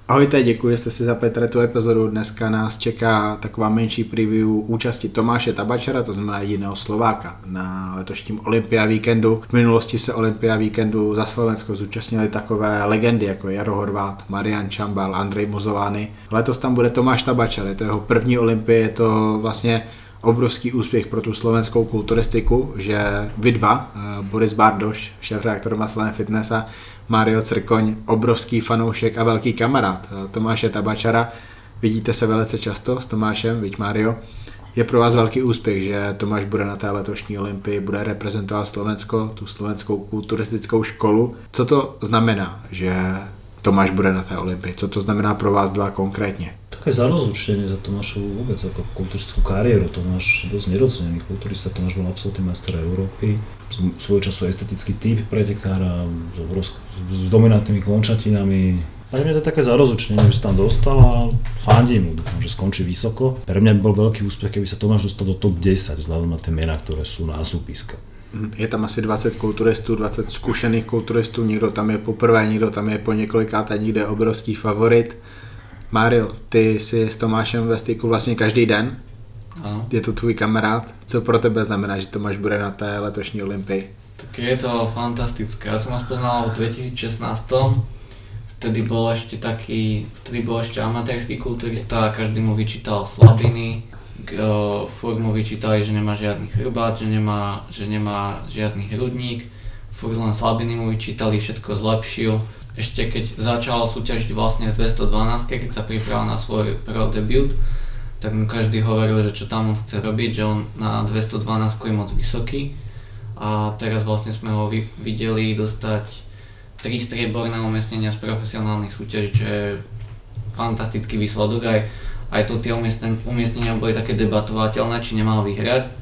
Ahojte, děkuji, že jste si zapli tu epizodu. Dneska nás čeká taková menší preview účasti Tomáše Tabačera, to znamená jediného Slováka na letošním Olympia Víkendu. V minulosti se Olympia Víkendu za Slovensko zúčastnili takové legendy jako Jaro Horvát, Marian Čambal, Andrej Mozovány. Letos tam bude Tomáš Tabačer, je to jeho první Olympie, je to vlastně obrovský úspěch pro tu slovenskou kulturistiku, že vy dva, Boris Bardoš, šéfredaktor Muscle & Fitness, a Mário Crkoň, obrovský fanoušek a velký kamarád Tomáše Tabačera. Vidíte se velice často s Tomášem, viď Mário? Je pro vás velký úspěch, že Tomáš bude na té letošní Olympii, bude reprezentovat Slovensko, tu slovenskou kulturistickou školu. Co to znamená, že Tomáš bude na té Olympii? Co to znamená pro vás dva konkrétně? Také zarozlučenie za Tomášovu vôbec ako kulturistickú kariéru. Tomáš dosť nedocenený kulturista, Tomáš bol absolútny majster Európy. Svojho času estetický typ pretekára s dominantnými končatinami. A mňa to je také zarozlučenie, že sa tam dostal a fandím mu, dúfam, že skončí vysoko. Pre mňa by bol veľký úspech, keby sa Tomáš dostal do top 10 vzhľadom na tie mená, ktoré sú na súpiske. Je tam asi 20 kulturistů, 20 zkušených kulturistů, někdo tam je poprvé, někdo tam je po několikáté, někdo je obrovský favorit. Mário, ty jsi s Tomášem ve styku vlastně každý den. Ano. Je to tvůj kamarád. Co pro tebe znamená, že Tomáš bude na té letošní Olympii? Tak je to fantastické. Ja som ho spoznal v 2016. Vtedy bol ešte amatérsky kulturista a každý mu vyčítal slabiny. Furt mu vyčítali, že nemá žiadny chrbát, že nemá žiadny hrudník. Furt len slabiny mu vyčítali, všetko zlepšil. Ešte keď začal súťažiť vlastne v 212, keď sa pripravil na svoj pro debut, tak mu každý hovoril, že čo tam on chce robiť, že on na 212 je moc vysoký. A teraz vlastne sme ho videli dostať 3 strieborné umiestnenia z profesionálnych súťaží, čo je fantastický výsledok. Aj to tie umiestnenia boli také debatovateľné, či nemal vyhrať.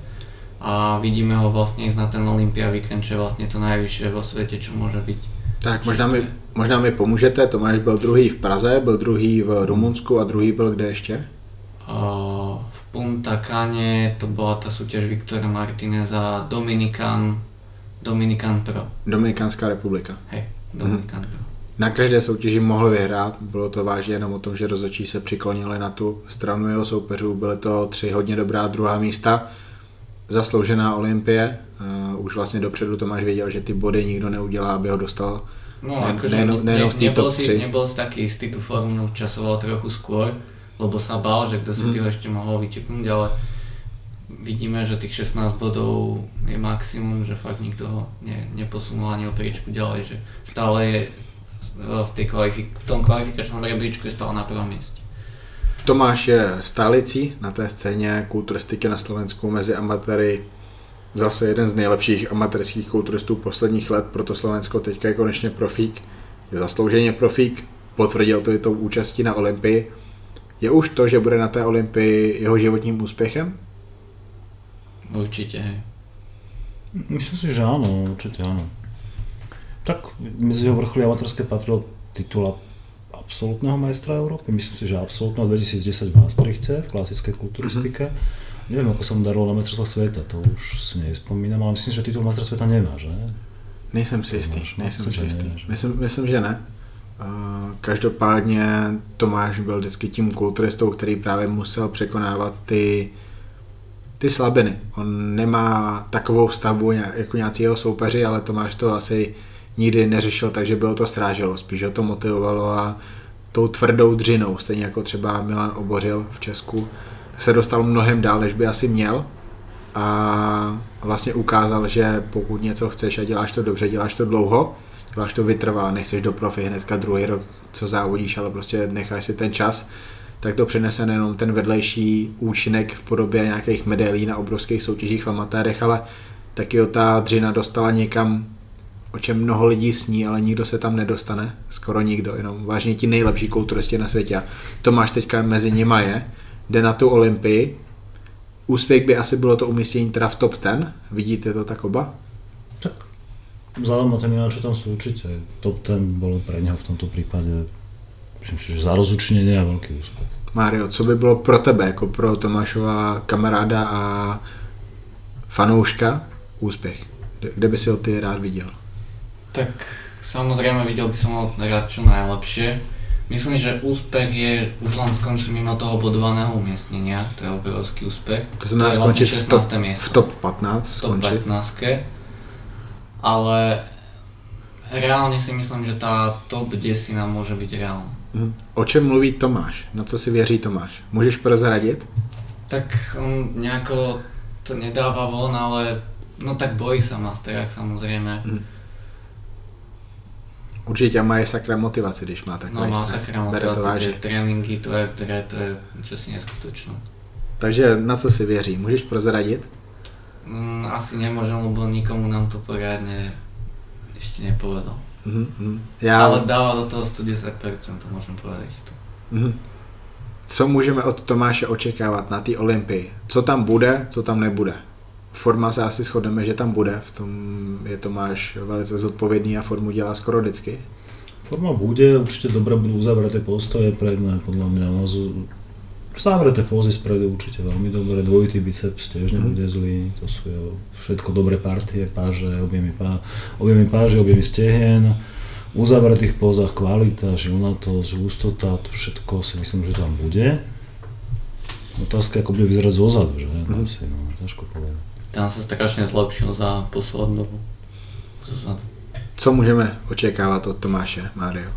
A vidíme ho vlastne ísť na ten Olympia Weekend, čo je vlastne to najvyššie vo svete, čo môže byť. Tak možná mi pomůžete, Tomáš byl druhý v Praze, byl druhý v Rumunsku a druhý byl kde ještě? V Punta Cane to bola tá súťaž Viktora Martineza Dominican Pro. Dominikánská republika. Hej, Dominican Pro. Na každé soutěži mohl vyhrát, bylo to vážně jenom o tom, že rozhodčí se přiklonili na tu stranu jeho soupeřů, byly to 3 hodně dobrá druhá místa. Zasloužená Olympie, už vlastně dopředu Tomáš věděl, že ty body nikdo neudělá, aby ho dostal. No akože nebol si taký istý, tú formu časoval trochu skôr, lebo sa bál, že kto si by ho ešte mohol vyťuknúť, ale vidíme, že tých 16 bodov je maximum, že fakt nikto ho neposunul ani o priečku ďalej, že stále je v tom kvalifikačnom rebríčku je stále na prvom mieste. Tomáš je stálicí na té scéně kulturistiky na Slovensku mezi amatéry, zase jeden z nejlepších amatérských kulturistů posledních let, proto Slovensko teďka je konečně profík, je zaslouženě profík, potvrdil to i tou účastí na Olympii. Je už to, že bude na té Olympii jeho životním úspěchem? Určite, hej. Myslím si, že áno, určite áno. Tak medzi jeho vrcholy amatérske patril titul absolútneho majstra Európy, myslím si, že absolútneho 2010 v Maastrichte v klasickej kulturistike. Neviem, ako sa mu darilo na majstrovstvách sveta, to už si nespomínam, ale myslím, že titul majstra sveta nemá, že? Nejsem si jistý. Myslím, že ne. Každopádně Tomáš byl vždycky tím kulturistou, který právě musel překonávat ty slabiny. On nemá takovou stavbu jako nějací jeho soupeři, ale Tomáš to asi nikdy neřešil, takže bylo to sráželo, spíš ho to motivovalo a tou tvrdou dřinou, stejně jako třeba Milan Obořil v Česku, se dostal mnohem dál, než by asi měl a vlastně ukázal, že pokud něco chceš a děláš to dobře, děláš to dlouho, děláš to vytrvalé, nechceš do profi hnedka druhý rok, co závodíš, ale prostě necháš si ten čas, tak to přinese nejenom ten vedlejší účinek v podobě nějakých medailí na obrovských soutěžích v amatérech, ale taky ta dřina dostala někam, o čem mnoho lidí sní, ale nikdo se tam nedostane, skoro nikdo, jenom vážně ti nejlepší kulturisti na světě. Tomáš teďka mezi nima jde na tu Olympii. Úspěch by asi bylo to umístění teda v top 10, vidíte to tak oba? Tak vzhľadom na ten čo tam sú určite, top 10 bolo pre neho v tomto prípade, myslím si, že zarozučnenie a veľký úspech. Mário, co by bylo pro tebe, jako pro Tomášova kamaráda a fanouška úspěch? Kde by si ho ty rád viděl? Tak samozrejme videl by som ho rád čo najlepšie. Myslím, že úspech je už len skončiť mimo toho bodovaného umiestnenia, to je obrovský úspech. To znamená vlastne skončiť v top 15. V top 15. Ale reálne si myslím, že tá top 10 nám môže byť reálna. O čem mluví Tomáš? Na co si věří Tomáš? Můžeš prozradit? Tak on nejako to nedáva von, ale no tak bojí sa Masterák samozrejme. Určitě má sakra motivaci, když má takový strach. No má strach. sakra motivaci, tie tréninky, to je čosi neskutočné. Takže na co si věří? Můžeš prozradit? Asi nemôžem, lebo nikomu nám to poriadne ešte nepovedal. Ale dáva do toho 110%, to môžem povedať to. Co můžeme od Tomáše očekávat na té Olympii? Co tam bude, co tam nebude? Forma se asi shodneme, že tam bude, v tom je Tomáš velice zodpovědný a formu dělá skoro vždycky. Forma bude, určite dobre budú uzavreté postoje predné, podľa mňa. Zavreté pózy spredu určite veľmi dobre, dvojitý biceps tiež nebude zlý, to sú všetko dobré partie, páže, objemy páže, objemy stehien, uzavretých pózach kvalita, žilnatosť, hustota, to všetko si myslím, že tam bude. Otázka, ako bude vyzerať zozadu, že? Asi, ťažko povedať. Tam sa strašne zlepšil za poslednú dobu zozadu. Co můžeme očekávat od Tomáše, Mário?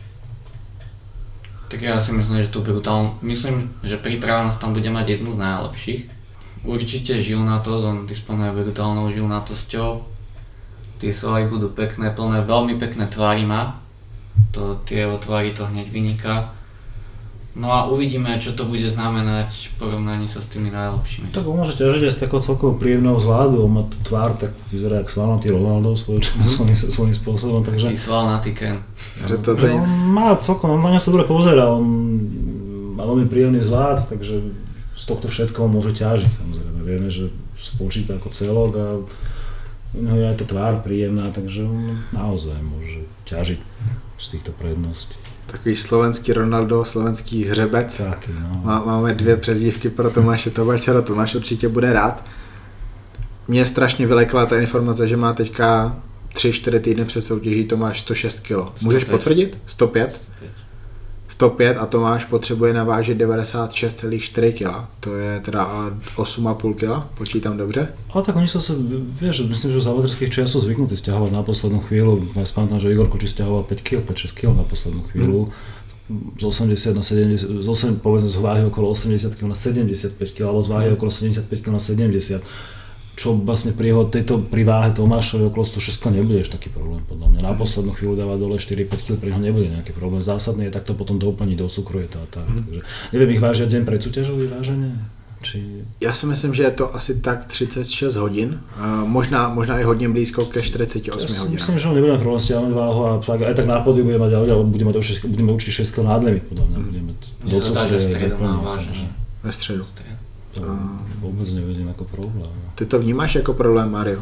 Tak ja si myslím, že myslím, že pripravenosť tam bude mať jednu z najlepších. Určite žilnatosť, on disponuje brutálnou žilnatosťou. Tie svaly budú pekné, plné, veľmi pekné tvary má. Tie jeho tvary to hneď vyniká. No a uvidíme, čo to bude znamenať v porovnaní sa s tými najlepšími. Tak on môže ťažiť aj z takého celkovo príjemného vzhľadu, on má tú tvár, tak vyzerá jak svalnatý Ronaldo svojím spôsobom, takže... Taký svalnatý Ken. On má celkom, on na ňa sa dobre pozerá, on má veľmi príjemný vzhľad, takže z tohto všetkoho môže ťažiť, samozrejme. Vieme, že spočíta ako celok a je aj tá tvár príjemná, takže on naozaj môže ťažiť z týchto predností. Takový slovenský Ronaldo, slovenský hřebec. Taky, no. Máme dvě přezdívky pro Tomáše Tomáčara, Tomáš určitě bude rád. Mě strašně vylekla ta informace, že má teďka 3-4 týdny před soutěží Tomáš 106 kg. Můžeš potvrdit? 105? 105 a Tomáš potřebuje navážit 96,4 kg. To je teda 8,5 kg, počítám dobře. Ale tak oni sa vieš, myslím, že z amaterských čias sú zvyknutí stiahovať na poslednú chvíľu. Ja spátam, že Igor Koči stiahoval 5 kg, 5-6 kg na poslednú chvíľu. Z 80 na 70, povedzme z váhy okolo 80 kg na 75 kg, alebo z váhy okolo 75 kg na 70. Čo vlastne pri váhe Tomášovi okolo 106 nebudeš taký problém, podľa mňa. Na poslednú chvíľu dávať dole 4-5 kg, pri ňom nebude nejaký problém. Zásadný je takto potom doplniť, docukruje to a tak. Takže neviem, ich vážia deň pred súťažou váženie? Já si myslím, že je to asi tak 36 hodin, možná i hodně blízko ke 48 hodinám. Myslím, že on nebude mať problém stiahnuť váhu a aj tak na pódiu bude mať určite 6 kg nadlimit, podľa mňa. Mne sa zdá, že v stredu má váženie. Ve středu. To vôbec nevidím ako problém. Ty to vnímáš jako problém, Mario?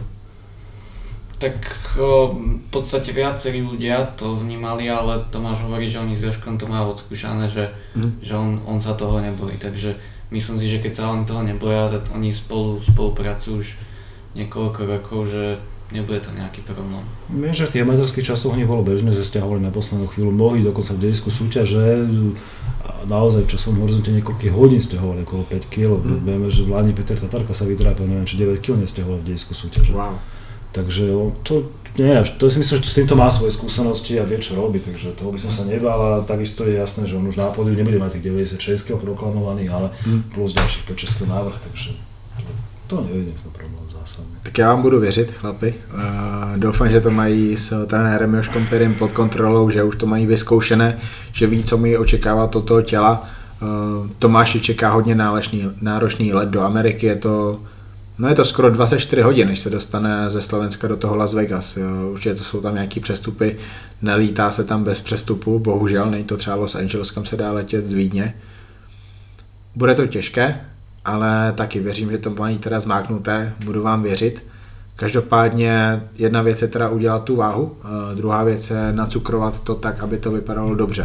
Tak v podstate viacerí ľudia to vnímali, ale Tomáš hovorí, že oni s Jožkom to majú odskúšané, že on sa toho nebojí. Takže myslím si, že keď sa oni toho neboja, tak oni spolupracujú už niekoľko rokov, že nebude to nejaký problém. Viem, že v tých amatorských časoch nie bolo bežné, že stiahovali na poslednú chvíľu. Mnohí dokonca v dejisku súťaže naozaj v časovom horizonte niekoľkých hodín stiahovali okolo 5 kg. Vieme, že v Lani Peter Tatarka sa vytrápil, neviem, či 9 kg nestiahoval v dejisku súťaže. Wow. Takže to si myslím, že s týmto má svoje skúsenosti a vie, čo robí, takže toho by som sa nebál a takisto je jasné, že on už na pódiu nebude mať tých 96 kg proklamovaných, ale plus ďalších 5-6 kg návrh, takže to nevidím v tom problém zásadne. Tak já vám budu věřit, chlapi. Doufám, že to mají s trenérem Jožkom Pirym pod kontrolou, že už to mají vyzkoušené, že ví, co mi očekávat od toho těla. Tomáši čeká hodně náročný let do Ameriky, je to skoro 24 hodin, než se dostane ze Slovenska do toho Las Vegas. Určitě to jsou tam nějaký přestupy, nelítá se tam bez přestupu, bohužel, není to třeba Los Angeles, kam se dá letět z Vídně. Bude to těžké, ale taky věřím, že to mají teda zmáknuté, budu vám věřit. Každopádně jedna věc je teda udělat tu váhu, druhá věc je nacukrovat to tak, aby to vypadalo dobře.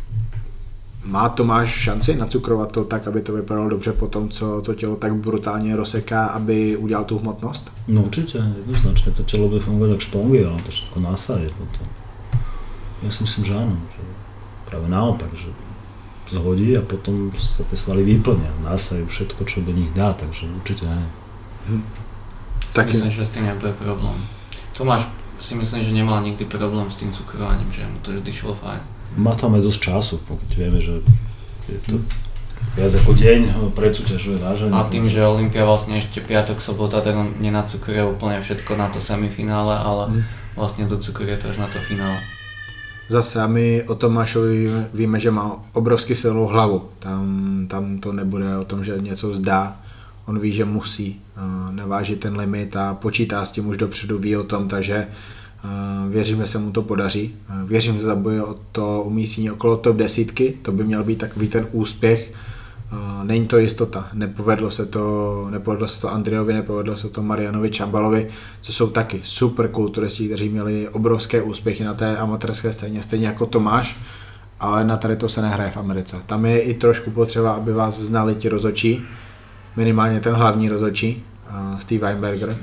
Má Tomáš šanci nacukrovat to tak, aby to vypadalo dobře po tom, co to tělo tak brutálně rozseká, aby udělal tu hmotnost? No určite, jednoznačne to telo bude fungovať ako špongy, ale to všetko nasaje potom. Ja si myslím, že áno. Že práve naopak, že zhodí a potom sa tie svaly vyplnia, násajú všetko, čo do nich dá, takže určite nie. Tak myslím, že s tým nebude problém. Tomáš si myslím, že nemal nikdy problém s tým cukrovaním, že mu to vždy šlo fajn. Má tam aj dosť času, keď vieme, že je to viac ako deň predsúťažuje váženie. A tým, že Olympia vlastne ešte piatok, sobota, tak on nenacukruje úplne všetko na to semifinále, ale vlastne docukruje to až na to finále. Zase a my o Tomášovi víme, že má obrovsky silnou hlavu. Tam to nebude o tom, že něco vzdá. On ví, že musí navážit ten limit a počítá s tím už dopředu, ví o tom, takže věřím, že se mu to podaří. Věřím, že zabojuje o to umístění okolo top 10, to by měl být takový ten úspěch. Není to jistota, nepovedlo se to Andrejovi, nepovedlo se to Marianovi Čambalovi, co jsou taky super kulturisti, kteří měli obrovské úspěchy na té amatérské scéně, stejně jako Tomáš, ale na tady to se nehraje v Americe. Tam je i trošku potřeba, aby vás znali ti rozhodčí, minimálně ten hlavní rozhodčí, Steve Weinberger.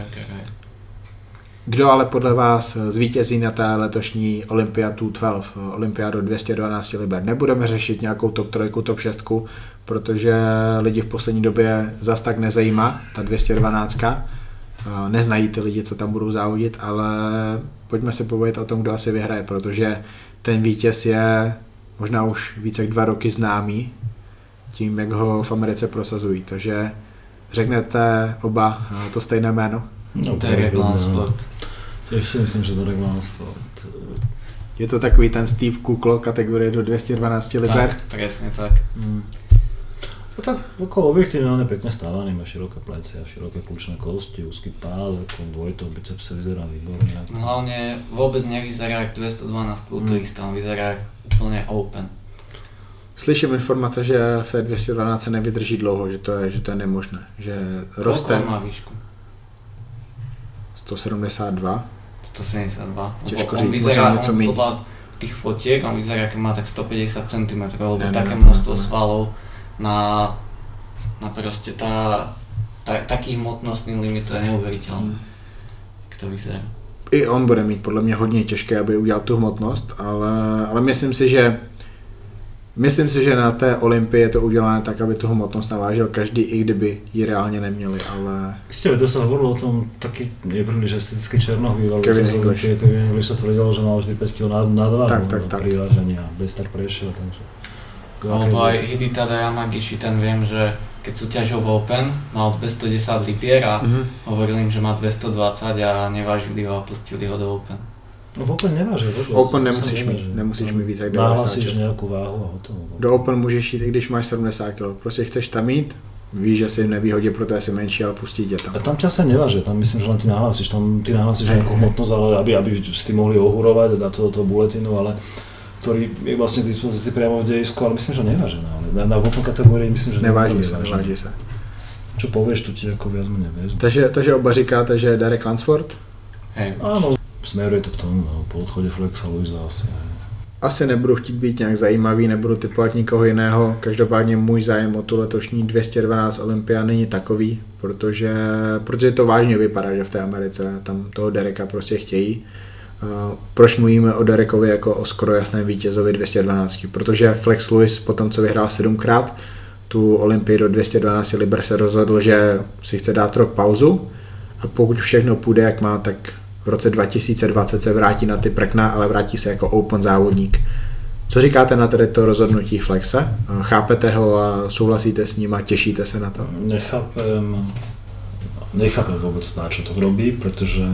Kdo ale podle vás zvítězí na té letošní Olympia 212, olympiádu 212 liber? Nebudeme řešit nějakou top 3, top 6, protože lidi v poslední době zas tak nezajímá ta 212. Neznají ty lidi, co tam budou závodit, ale pojďme se povědět o tom, kdo asi vyhraje, protože ten vítěz je možná už více jak 2 roky známý tím, jak ho v Americe prosazují. Takže řeknete oba to stejné jméno? No, Derek Lansford. Tiež si myslím, že Derek Lansford. Je to takový ten Steve Kuklo kategorie do 212 liber? Tak, presne tak. No tak okolo objektívne on je pekne stávaný, má široké plecia, široké kľúčné kosti, úzky pás, ako dvojtou bicepse vyzerá výborne. No, hlavne vôbec nevyzerá jak 212 kulturista, on vyzerá úplne open. Slyším informace, že v té 212 nevydrží dlouho, že to je nemožné, že roste. Koľko má výšku? 172. 172. Těžko říct, možná něco míň. Podľa tých fotiek, on vyzerá, ako má tak 150 cm, alebo také množstvo svalov na proste taký hmotnostný limit, to je neuveriteľné, jak to vyzerá. I on bude mít podle mě hodně těžké, aby udělal tu hmotnost, ale myslím si, že na té Olympii je to udělané tak, aby tu hmotnost navážil každý, i kdyby ji reálně neměli, ale... Ste, to sa hovorilo o tom taký nepríliš estetický černoch býval. Kevin English. Kevin English sa tvrdil, že mal vždy 5 kg na 2 tak. Pri vážení a bez tak prešiel, takže... Alebo aj Hidetada Yamagishi, ten viem, že keď súťažil v Open, mal 210 libier a hovoril im, že má 220 a nevážili ho a pustili ho do Open. No v Open nevážil vôbec. Open nemusíš mít víc jak 96. Nahlasíš nejakú váhu a hotovo. Do Open můžeš jít, i když máš 70 kg. Prostě chceš tam jít, víš, že si v nevýhodě, proto je si menší, ale pustí tě tam. A tam ťa sa neváže, tam myslím, že len ty nahlasíš nejakú hmotnosť, ale aby ste mohli ohurovať a dať to do toho buletinu, ale ktorý je vlastne k dispozícii priamo v dejisku, ale myslím, že neváže. Na Open kategórii myslím, že neváží se. Čo povieš, to ti ako viac menej vezmu. Takže oba říkáte, že Derek Lansford? Hej. Áno, smeruje to k tomu, po odchode Flexa Luisa asi. Asi nebudu chtít být nějak zajímavý, nebudu typovat nikoho jiného. Každopádně můj zájem o tu letošní 212 Olympia není takový, protože to vážně vypadá, že v té Americe tam toho Dereka prostě chtějí. Proč mluvíme o Derekovi jako o skoro jasném vítězovi 212? Protože Flex Lewis po tom, co vyhrál 7krát tu Olympii do 212 liber, se rozhodl, že si chce dát rok pauzu a pokud všechno půjde jak má, tak v roce 2020 se vrátí na ty prkna, ale vrátí se jako open závodník. Co říkáte na tedy to rozhodnutí Flexe? Chápete ho a souhlasíte s ním a těšíte se na to? Nechápem vôbec, na čo to robí, pretože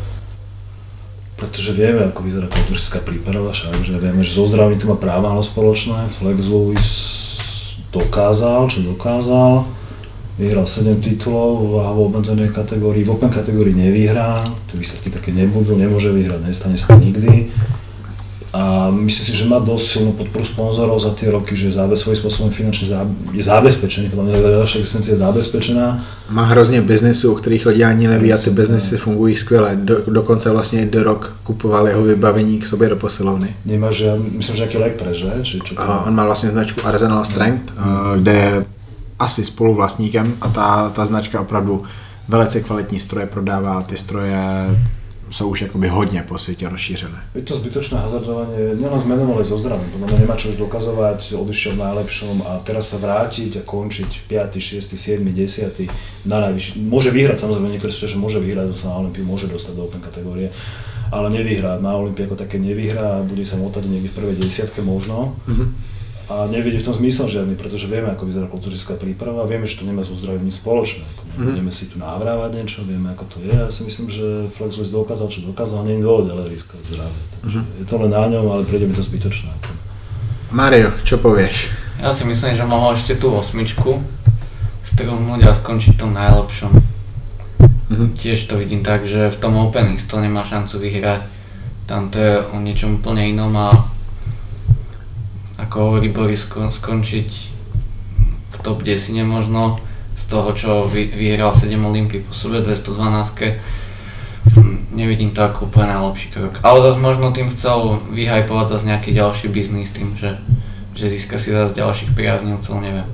vieme, ako vyzerá kulturistická príprava, však, že vieme, že so zdravím to má práva spoločné. Flex Lewis dokázal, vyhral 7 titulov v váhovo obmedzenej kategórii, v Open kategórii nevyhrá, tie výsledky také nebudú, nemôže vyhrať, nestane sa nikdy. A myslím si, že má dosť silnú podporu sponzorov za tie roky, že svojím spôsobom finančne je zabezpečený, podľa mňa ďalšia existencia je zabezpečená. Má hrozně biznesů, o kterých lidi ani neví a ty biznesy fungují skvěle. Dokonce vlastně The Rock kupoval jeho vybavení k sobě do posilovny. Nemá, že myslím, že nejaký leg že? On má vlastně značku Arsenal Strength, kde je asi spoluvlastníkem a ta značka opravdu velice kvalitní stroje prodává, ty stroje jsou už jakoby hodně po světě rozšířené. Je to zbytočné hazardovanie, nielen s menom, ale so zdravím. To nemá čo už dokazovať, odišiel v najlepšom a teraz sa vrátiť a končiť 5., 6., 7., 10. na najvyšší. Môže vyhrať, samozrejme niektoré súťaže môže vyhrať, sa na Olympiu môže dostať do Open kategórie, ale nevyhrá. Na Olympii ako také nevyhrá, bude sa motať niekde v prvej 10 možno. A nevidí v tom zmysel žiadny, pretože vieme, ako vyzerá kulturistická príprava, vieme, že to nemá so zdravím nič spoločné. Nebudeme si tu navrávať niečo, vieme, ako to je. Ja si myslím, že Flex Lewis dokázal, čo dokázal, nie je dôvod, ale riskovať zdravie. Takže je to len na ňom, ale príde mi to zbytočné. Mario, čo povieš? Ja si myslím, že mohol ešte tú 8 strhnúť a skončiť v tom najlepšom. Tiež to vidím tak, že v tom Open X to nemá šancu vyhrať. Tam to je o niečom úplne inom a ako hovorí Boris, skončiť v top 10 možno z toho, čo vyhral 7 Olympií po sebe, 212. Nevidím to ako úplne najlepší krok. Ale zase možno tým chcel vyhypovať zase nejaký ďalší biznis tým, že získa si zase ďalších priaznivcov, neviem.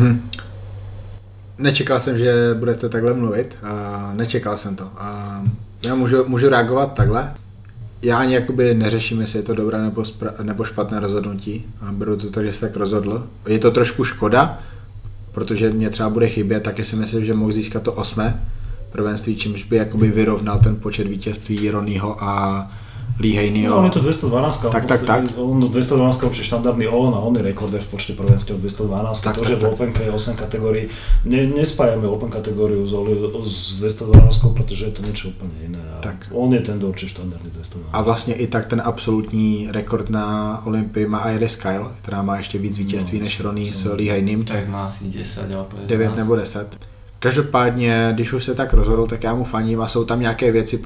Nečekal jsem, že budete takhle mluvit a nečekal jsem to. A já můžu reagovat takhle. Já ani jakoby neřeším, jestli je to dobré nebo špatné rozhodnutí. A beru to tak, že se tak rozhodl. Je to trošku škoda, protože mě třeba bude chybět, taky si myslím, že mohl získat to 8. prvenství, čímž by jakoby vyrovnal ten počet vítězství Ronnieho a Lee Haneyho. No on je to 212. Tak. On 212 určite štandardný a on je rekorder v počte prvenstiev 212. To, že v Openke je 8 kategórií, nespájame Open kategóriu s 212, protože je to niečo úplne iné. On je ten určite štandardný 212. A vlastně i tak ten absolutní rekord na Olympii má Iris Kyle, která má ještě víc vítězství než Ronnie s Lee Haneym. Tak má asi 10, 9 nebo 10. Každopádně, když už se tak rozhodl, tak já mu faním a jsou tam nějaké věci,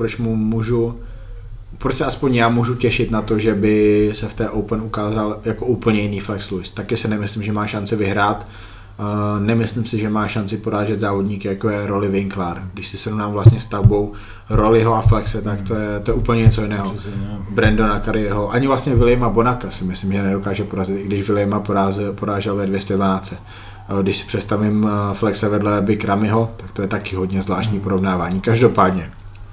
proč se aspoň já můžu těšit na to, že by se v té Open ukázal jako úplně jiný Flex Lewis. Taky si nemyslím, že má šanci vyhrát. Nemyslím si, že má šanci porážet závodníky, jako je Rory Winkler. Když si srovnám vlastně stavbou Rollyho a Flexe, tak to je úplně něco jiného. Brandona Curryho, ani vlastně Williama Bonacka si myslím, že nedokáže porazit, i když Williama porážel ve 212. Když si představím Flexe vedle Big Ramyho, tak to je taky hodně zvláštní porovnávání. Každopádně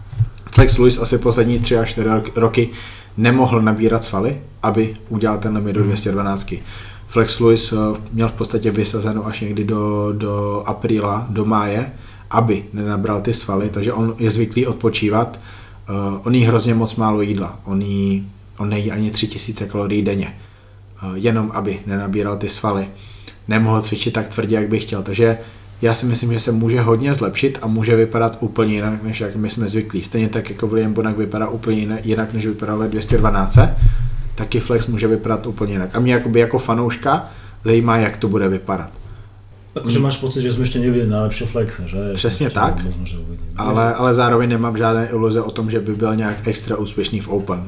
Flex Lewis asi poslední 3 až 4 roky nemohl nabírat svaly, aby udělal ten limit do 212. Flex Lewis měl v podstatě vysazeno až někdy do apríla, do máje, aby nenabral ty svaly, takže on je zvyklý odpočívat. On jí hrozně moc málo jídla, on nejí ani 3000 kalorií denně, jenom aby nenabíral ty svaly. Nemohl cvičit tak tvrdě, jak by chtěl, takže já si myslím, že se může hodně zlepšit a může vypadat úplně jinak, než jak my jsme zvyklí. Stejně tak, jako William Bonac vypadá úplně jinak, než vypadal ve 212, taky Flex může vypadat úplně jinak. A mě jako fanouška zajímá, jak to bude vypadat. Takže máš pocit, že jsme ještě neviděli najlepšího Flexa, že? Přesně tak, možno, že ale zároveň nemám žádné iluze o tom, že by byl nějak extra úspěšný v Open.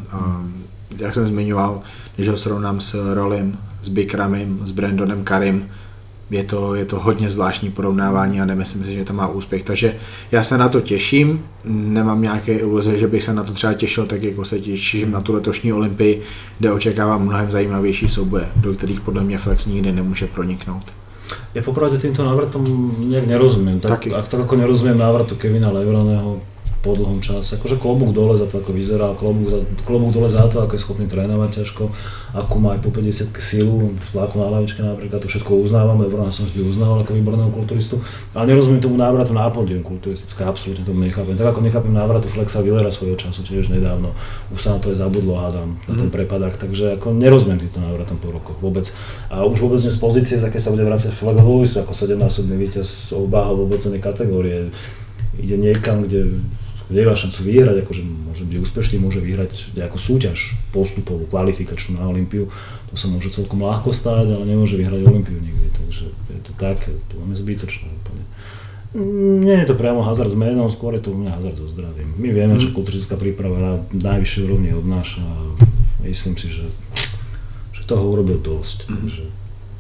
Jak jsem zmiňoval, když ho srovnám s Rollym, s Big Ramym, s Brandonem Currym, je to hodně zvláštní porovnávání a nemyslím si, že to má úspěch, takže já se na to těším, nemám nějaké iluze, že bych se na to třeba těšil tak, jako se těším na tu letošní Olympii, kde očekávám mnohem zajímavější souboje, do kterých podle mě Flex nikdy nemůže proniknout. Ja popravde týmto návratom nejak nerozumiem, tak ako nerozumiem návratu Kevina Levrona po dlhom čase, akože klobúk dole za to, ako vyzerá, klobúk dole za to, ako je schopný trénovať ťažko, ako má aj po 50 sílu, spláku na lavičke napríklad, to všetko uznávam, Levrona som vždy uznával ako výborného kulturistu, ale nerozumiem tomu návratu na pódium kulturistické, absolútne tomu nechápem, tak ako nechápem návratu Flexa Willera svojho času, tiež nedávno, už sa na to aj zabudlo, hádam, na ten prepadák, takže ako nerozumiem týmto návratom po rokoch vôbec. A už vôbec nie z pozície, z aké sa bude vrácať Flex Lewis, ako 7-násobný víťaz obáhov v obocenej kategórie, ide niekam, kde nemá šancu vyhrať, akože môže byť úspešný, môže vyhrať nejakú súťaž postupovú, kvalifikačnú na Olympiu, to sa môže celkom ľahko stáť, ale nemôže vyhrať Olympiu nikdy, takže je to tak, to máme zbytočné úplne. Nie je to priamo hazard s menom, skôr je to u mňa hazard so zdravím. My vieme, čo kulturistická príprava na najvyššej úrovni obnáša a myslím si, že toho urobil dosť, takže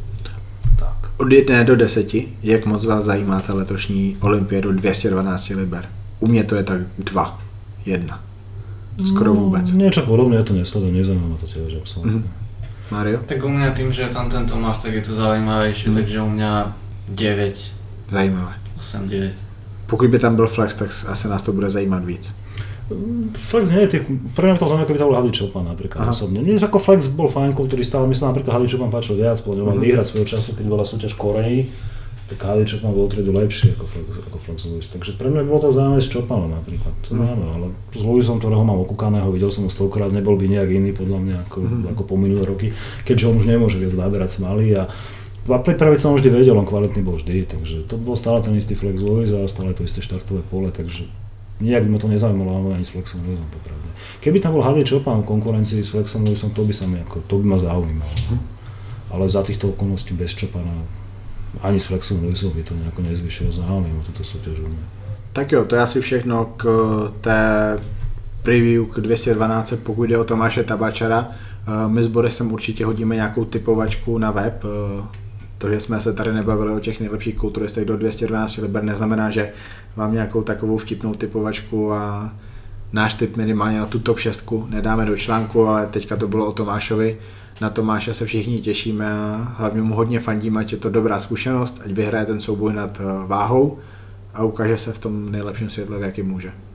tak. Od 1 do 10, jak moc vás zajímá ta letošní olympiádu 212 liber? U mě to je tak 2, 1. Skoro vůbec. Niečo podobné, ja to nesledujem, nezaujíma ma to tiež absolútne. Mario? Tak u mňa tým, že je tam ten Tomáš, tak je to zaujímavejšie, takže u mňa 9. Zajímavé. 8, 9. Pokud by tam byl Flex, tak asi nás to bude zajímat víc. Flex nie je, pre mňa by to znamená, keby to bol Hadi Choopan napríklad osobne. Mne ako Flex bol fajn kulturista, ale myslím napríklad Hadi Choopan páčil viac, podľa mal vyhrať svojho času, keď bola súťaž v Koreji, tak Hadi Choopan bol triedu lepší ako Flex Lewis. Takže pre mňa by bolo to zaujímavé s Choopanom napríklad. To neviem, ale s Lewisom, ktorého mám okúkaného, videl som ho 100-krát, nebol by nejak iný podľa mňa ako po minulé roky, keďže on už nemôže viac naberať smaly a pripraviť som vždy vedel, on kvalitný bol vždy, takže to bol stále ten istý Flex Lewis a stále to isté štartové pole, takže nijak by ma to nezaujímalo ani s Flexom Lewisom popravde. Keby tam bol Hadi Choopan v konkurencii s Flexom Lewisom, to by ma zaujímalo. Ale za týchto okolností bez Choopana ani s Flexom Lewisom by to nejako nezvyšilo záujem o túto súťaž. Tak jo, to je asi všechno k té preview k 212, pokud jde o Tomáše Tabačara. My s Borisem určitě hodíme nějakou typovačku na web. To, že jsme se tady nebavili o těch nejlepších kulturistech do 212 liber, neznamená, že vám nějakou takovou vtipnou typovačku a náš tip minimálně na tu top 6 nedáme do článku, ale teďka to bylo o Tomášovi. Na Tomáše se všichni těšíme a hlavně mu hodně fandíme, ať je to dobrá zkušenost, ať vyhraje ten souboj nad váhou a ukáže se v tom nejlepším světle, v jakém může.